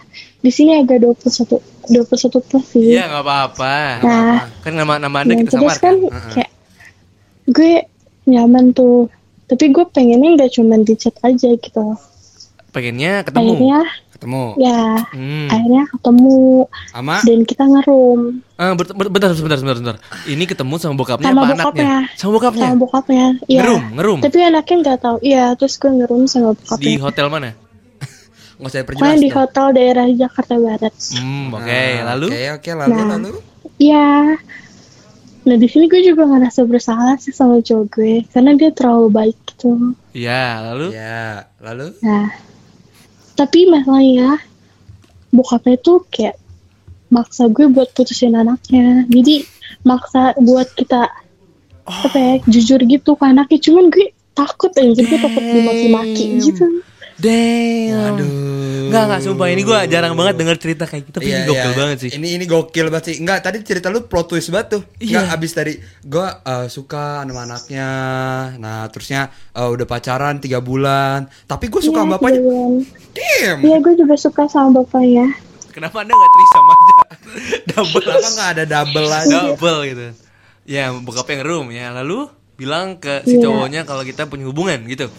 Speaker 4: 21 plus sih.
Speaker 1: Iya, nggak apa-apa.
Speaker 4: Nah,
Speaker 1: Kan nama Anda
Speaker 4: dan
Speaker 1: kita
Speaker 4: terus
Speaker 1: samarkan.
Speaker 4: kan kayak gue nyaman tuh, tapi gue pengennya nggak cuma di chat aja gitu.
Speaker 1: Pengennya ketemu.
Speaker 4: Akhirnya
Speaker 3: Ketemu
Speaker 4: ya
Speaker 1: Hmm.
Speaker 4: akhirnya ketemu
Speaker 3: sama
Speaker 4: dan kita ngerum
Speaker 1: Bentar. Ini ketemu sama bokapnya
Speaker 4: sama
Speaker 1: apa
Speaker 4: bokapnya.
Speaker 1: anaknya? Sama bokapnya.
Speaker 4: Sama bokapnya. Iya.
Speaker 1: Ngerum.
Speaker 4: Tapi anaknya nggak tahu. Iya, terus gue ngerum sama
Speaker 1: Di
Speaker 4: bokapnya.
Speaker 1: hotel mana?
Speaker 3: nggak saya
Speaker 4: Pokoknya
Speaker 3: perjelas
Speaker 4: di
Speaker 3: dong.
Speaker 4: hotel daerah Jakarta Barat.
Speaker 1: Oke. Lalu?
Speaker 3: Oke, lalu
Speaker 4: Nah.
Speaker 3: lalu.
Speaker 4: Iya. Nah di sini gue juga ngerasa bersalah sih sama cowok gue karena dia terlalu baik gitu.
Speaker 1: Iya, lalu?
Speaker 3: Ya, lalu
Speaker 4: Nah, tapi masalahnya bokapnya tuh kayak maksa gue buat putusin anaknya. Jadi maksa buat kita apa ya, jujur gitu ke anaknya. Cuman gue takut aja, gue takut dimaki-maki gitu.
Speaker 1: Damn.
Speaker 3: Aduh.
Speaker 1: Enggak, sumpah ini gue jarang banget denger cerita kayak gitu. Tapi ini gokil banget sih.
Speaker 3: Ini gokil banget sih. Enggak, tadi cerita lu plot twist banget tuh.
Speaker 1: Iya.
Speaker 3: Enggak, abis dari gua suka sama anaknya. Nah, terusnya udah pacaran 3 bulan. Tapi gue suka sama bapaknya. Damn.
Speaker 4: Iya, gue juga suka sama bapaknya.
Speaker 1: Kenapa Anda gak trisam aja? Double.
Speaker 3: Kenapa nggak ada double lagi?
Speaker 1: Double gitu. Ya, bokapnya ngerum ya. Lalu bilang ke si
Speaker 4: Iya.
Speaker 1: cowoknya kalau kita punya hubungan gitu.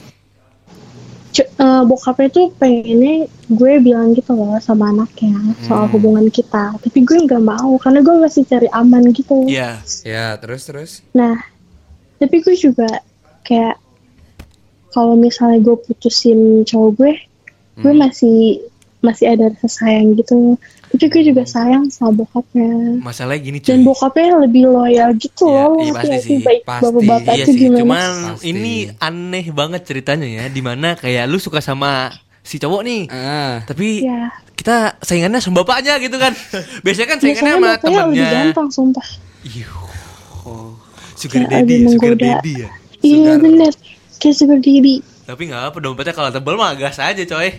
Speaker 4: Bokapnya tuh pengennya gue bilang gitu loh sama anaknya soal hubungan kita. Tapi gue nggak mau karena gue masih cari aman gitu.
Speaker 1: Iya.
Speaker 3: Ya, terus.
Speaker 4: Nah, tapi gue juga kayak kalau misalnya gue putusin cowok gue masih ada rasa sayang gitu. Tapi gue juga sayang sama bokapnya.
Speaker 1: Masalahnya gini cuy.
Speaker 4: Dan bokapnya lebih loyal gitu
Speaker 1: Iya,
Speaker 4: loh.
Speaker 1: iya, pasti
Speaker 4: Ngerti
Speaker 1: sih.
Speaker 4: baik
Speaker 3: Pasti.
Speaker 4: bapak-bapak
Speaker 1: Iya
Speaker 4: tuh
Speaker 1: sih,
Speaker 4: gimana.
Speaker 1: cuman
Speaker 3: Pasti.
Speaker 1: ini aneh banget ceritanya ya, dimana kayak lu suka sama si cowok nih, tapi
Speaker 4: Iya.
Speaker 1: kita saingannya sama bapaknya gitu kan. Biasanya kan saingannya
Speaker 4: Biasanya
Speaker 1: sama
Speaker 4: bapaknya lebih
Speaker 1: temennya.
Speaker 4: gampang sumpah.
Speaker 1: Iya. Sugar
Speaker 4: Kayak
Speaker 1: daddy,
Speaker 4: lebih
Speaker 1: sugar
Speaker 4: menggoda.
Speaker 1: daddy ya.
Speaker 4: Iya bener. Kayak sugar daddy.
Speaker 1: Tapi nggak apa, dompetnya kalau tebal mah gas aja coy.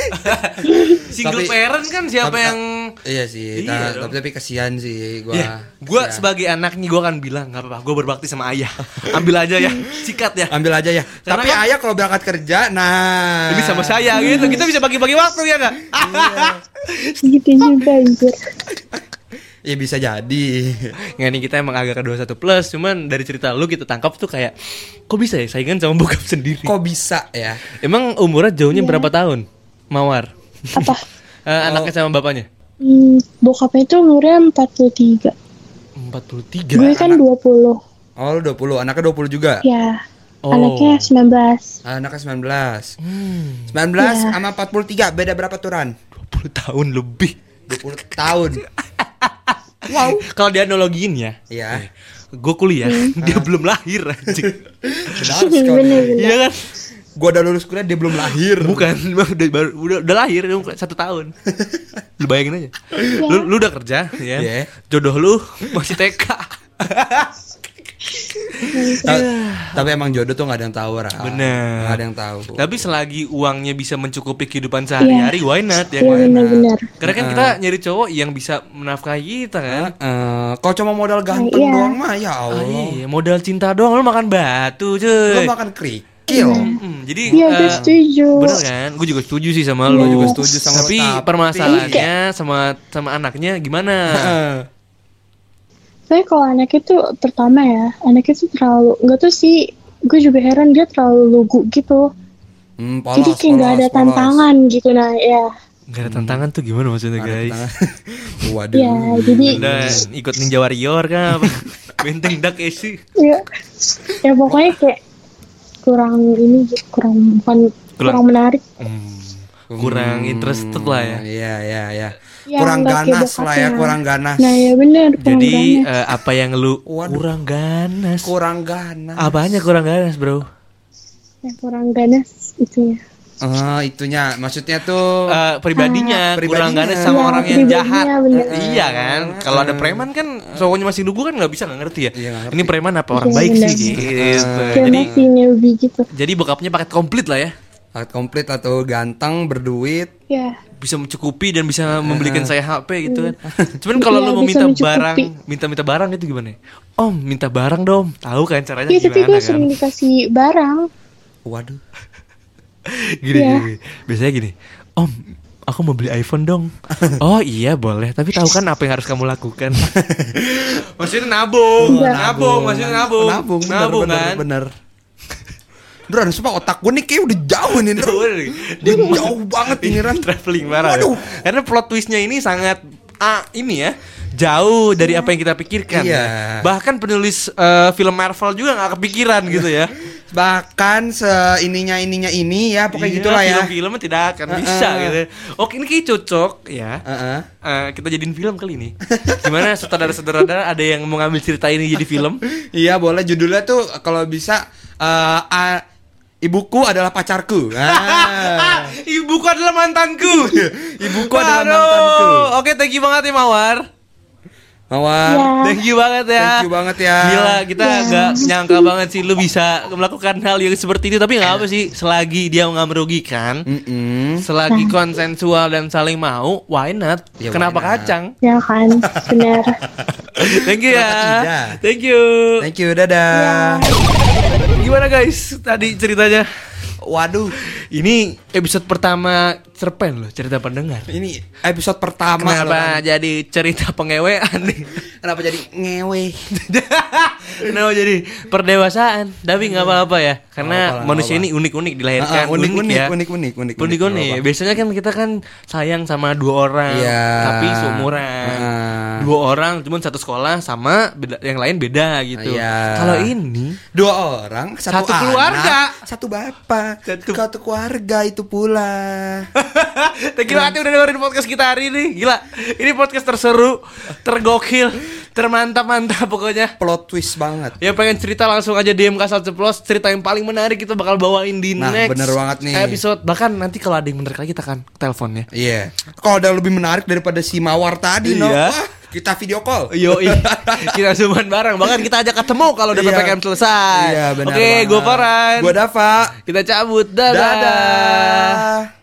Speaker 1: Single
Speaker 3: Tapi-
Speaker 1: parent kan siapa
Speaker 3: tapi-
Speaker 1: yang
Speaker 3: Iya sih,
Speaker 1: Iya dong.
Speaker 3: tapi kasihan sih gua.
Speaker 1: ya, gue
Speaker 3: Kasihan.
Speaker 1: sebagai anaknya gue akan bilang nggak apa-apa, gue berbakti sama ayah. Ambil aja ya, sikat ya.
Speaker 3: Ambil aja ya.
Speaker 1: Karena
Speaker 3: Tapi
Speaker 1: kan-
Speaker 3: ayah kalau berangkat kerja, nah
Speaker 1: Ini sama saya gitu, kita bisa bagi-bagi waktu ya nggak?
Speaker 4: Gitu juga anjir.
Speaker 3: Ya bisa jadi.
Speaker 1: Nggak nih, kita emang agak ke 21 plus. Cuman dari cerita lu kita tangkap tuh kayak, kok bisa ya saingan sama bokap sendiri?
Speaker 3: Kok bisa ya?
Speaker 1: Emang umurnya jauhnya
Speaker 4: Iya.
Speaker 1: berapa tahun? Mawar.
Speaker 4: Apa?
Speaker 1: Anaknya sama bapaknya?
Speaker 4: Bokapnya itu umurnya 43.
Speaker 1: 43.
Speaker 4: Gue kan 20.
Speaker 3: Oh lu 20, anaknya 20 juga?
Speaker 4: Ya.
Speaker 1: Oh.
Speaker 4: Anaknya 19.
Speaker 3: Anaknya 19. 19
Speaker 4: Iya.
Speaker 3: sama 43 beda berapa tuh Ran?
Speaker 1: 20 tahun lebih.
Speaker 3: 20 tahun. Wow.
Speaker 1: Kalau dia analogiin ya,
Speaker 3: Iya.
Speaker 1: gue kuliah, dia belum lahir anjing.
Speaker 3: Benar sekali.
Speaker 4: Bener-bener.
Speaker 1: Iya kan?
Speaker 3: Gua udah lulus kuliah dia belum lahir.
Speaker 1: Bukan, udah lahir 1 tahun. Lu bayangin aja. Lu udah kerja ya.
Speaker 3: Iya.
Speaker 1: Jodoh lu masih TK.
Speaker 3: Tapi emang jodoh tuh gak ada yang tahu, Ran.
Speaker 1: Bener.
Speaker 3: Gak ada yang tahu.
Speaker 1: Tapi selagi uangnya bisa mencukupi kehidupan sehari-hari, why not ya
Speaker 4: Iya
Speaker 1: kan?
Speaker 4: benar-benar.
Speaker 1: Karena kan kita nyari cowok yang bisa menafkahi kita kan.
Speaker 3: Kalau cuma modal ganteng
Speaker 4: Iya.
Speaker 3: doang mah ya
Speaker 1: Ah,
Speaker 3: Allah.
Speaker 1: iya, modal cinta doang lu makan batu, cuy.
Speaker 3: Lu makan kerikil.
Speaker 1: Jadi
Speaker 4: Iya gue setuju.
Speaker 1: bener kan? Gue juga setuju sih sama lu.
Speaker 3: Gua juga setuju sama lu,
Speaker 1: Tapi
Speaker 3: tapi-
Speaker 1: permasalahannya sama anaknya gimana?
Speaker 4: Tapi kalau anak itu pertama ya, anak itu terlalu, nggak tuh sih, gue juga heran dia terlalu lugu gitu. Jadi kayak nggak ada tantangan gitu, nah ya.
Speaker 1: Gak ada tantangan tuh gimana maksudnya guys?
Speaker 3: Waduh.
Speaker 4: Ya, jadi
Speaker 1: Dan ikut Ninja Warrior kan? Apa? Benteng Dark Esi.
Speaker 4: ya, ya pokoknya kayak kurang ini, kurang menarik.
Speaker 1: Kurang interested lah ya.
Speaker 3: Iya.
Speaker 4: Ya,
Speaker 3: Kurang
Speaker 4: nggak kayak
Speaker 3: ganas lah ya,
Speaker 4: bokapnya.
Speaker 3: kurang ganas.
Speaker 4: Nah ya bener, kurang
Speaker 1: Jadi
Speaker 4: ganas.
Speaker 1: apa yang lu
Speaker 3: Waduh.
Speaker 1: kurang ganas?
Speaker 3: Kurang ganas.
Speaker 1: Apanya kurang ganas, bro?
Speaker 4: Ya, kurang ganas itunya.
Speaker 3: Itunya maksudnya tuh
Speaker 1: Pribadinya kurang
Speaker 3: Pribadinya.
Speaker 1: ganas sama
Speaker 4: Iya,
Speaker 1: orang yang
Speaker 4: pribadinya
Speaker 1: jahat.
Speaker 4: bener.
Speaker 1: Iya kan? Kalau ada preman kan cowoknya masih lugu kan nggak bisa nggak ngerti ya.
Speaker 3: Iya, nggak ngerti.
Speaker 1: Ini preman apa orang
Speaker 4: Iya,
Speaker 1: baik
Speaker 4: bener.
Speaker 1: sih gitu.
Speaker 4: Kayak masih newbie gitu.
Speaker 1: Jadi bokapnya paket komplit lah ya.
Speaker 3: paket komplit atau ganteng, berduit.
Speaker 4: Ya.
Speaker 1: Bisa mencukupi dan bisa membelikan saya HP gitu kan. Cuman kalau
Speaker 4: Iya,
Speaker 1: lu mau
Speaker 4: bisa
Speaker 1: minta
Speaker 4: mencukupi.
Speaker 1: barang, minta barang itu gimana? Om, minta barang dong. Tahu kan caranya
Speaker 4: Ya tapi gue
Speaker 1: gimana kan?
Speaker 4: sering dikasih barang.
Speaker 3: Waduh.
Speaker 1: Gini,
Speaker 4: Iya.
Speaker 1: gini. Biasanya gini. Om, aku mau beli iPhone dong. Oh iya boleh, tapi tahu kan apa yang harus kamu lakukan? Maksudnya nabung,
Speaker 4: Iya.
Speaker 1: maksudnya nabung,
Speaker 3: Nabung,
Speaker 1: kan?
Speaker 3: bener. Duran, sumpah otak gue nih kayak udah jauh nih.
Speaker 1: Dia
Speaker 3: Jauh banget ini Ran.
Speaker 1: traveling parah. Ya.
Speaker 3: Waduh.
Speaker 1: Karena plot twistnya ini sangat ini ya jauh dari apa yang kita pikirkan.
Speaker 3: Iya.
Speaker 1: Ya. Bahkan penulis film Marvel juga nggak kepikiran gitu ya.
Speaker 3: Bahkan seininya ini ya pokoknya gitulah ya.
Speaker 1: Film-filmnya tidak akan bisa gitu. Oke, ini kayak cocok ya.
Speaker 3: Heeh.
Speaker 1: Kita jadiin film kali ini. Gimana sutradara-sutradara ada yang mau ngambil cerita ini jadi film?
Speaker 3: Iya boleh, judulnya tuh kalau bisa Ibuku adalah pacarku.
Speaker 1: Ibuku adalah mantanku.
Speaker 3: Ibuku adalah
Speaker 1: Aduh.
Speaker 3: mantanku.
Speaker 1: Oke, thank you banget ya Mawar.
Speaker 3: Mawar.
Speaker 4: Ya.
Speaker 1: Thank you banget ya.
Speaker 3: Thank you banget ya.
Speaker 1: Gila, kita nggak nyangka banget sih lu bisa melakukan hal yang seperti itu. Tapi nggak apa sih, selagi dia nggak merugikan, selagi konsensual dan saling mau, why not?
Speaker 3: Ya,
Speaker 1: Kenapa
Speaker 3: why not?
Speaker 1: kacang?
Speaker 4: Ya kan, benar.
Speaker 1: Thank you
Speaker 3: Kenapa
Speaker 1: ya.
Speaker 3: tidak?
Speaker 1: Thank you.
Speaker 3: Thank you, dadah.
Speaker 1: Gimana guys tadi ceritanya?
Speaker 3: Waduh,
Speaker 1: Ini episode pertama cerpen loh, cerita pendengar.
Speaker 3: ini episode pertama.
Speaker 1: Kenapa
Speaker 3: loh,
Speaker 1: jadi cerita pengewean nih?
Speaker 3: Kan. Kenapa jadi ngewe?
Speaker 1: Kenapa jadi perdewasaan? Tapi nggak apa-apa ya, karena
Speaker 3: Nggak apa-apa,
Speaker 1: manusia
Speaker 3: nggak
Speaker 1: ini unik-unik dilahirkan,
Speaker 3: unik.
Speaker 1: Unik-unik. Biasanya kan kita kan sayang sama 2 orang,
Speaker 3: Iya.
Speaker 1: tapi seumuran. 2 orang, cuman satu sekolah sama yang lain beda gitu.
Speaker 3: Iya.
Speaker 1: Kalau ini
Speaker 3: 2 orang,
Speaker 1: Satu
Speaker 3: anak,
Speaker 1: keluarga.
Speaker 3: satu bapak,
Speaker 1: Satu-
Speaker 3: satu keluarga itu pula.
Speaker 1: thank you banget udah dengerin podcast kita hari ini. Gila, ini podcast terseru, tergokil, termantap-mantap pokoknya.
Speaker 3: Plot twist banget.
Speaker 1: Ya pengen cerita langsung aja DM Kasal Ceplos. Cerita yang paling menarik kita bakal bawain di
Speaker 3: Nah,
Speaker 1: next
Speaker 3: bener banget nih.
Speaker 1: episode. Bahkan nanti kalau ada yang menarik lagi kita akan teleponnya.
Speaker 3: Iya. Kalau ada lebih menarik daripada si Mawar tadi, no.
Speaker 1: Iya.
Speaker 3: Wah, kita video call.
Speaker 1: Yo, kita zooman bareng. Bahkan kita ajak ketemu kalau udah
Speaker 3: Iya.
Speaker 1: PPKM selesai.
Speaker 3: Iya, benar.
Speaker 1: Oke,
Speaker 3: banget.
Speaker 1: gue Farhan.
Speaker 3: Gue Dava.
Speaker 1: Kita cabut. Dadah.
Speaker 3: Dadah.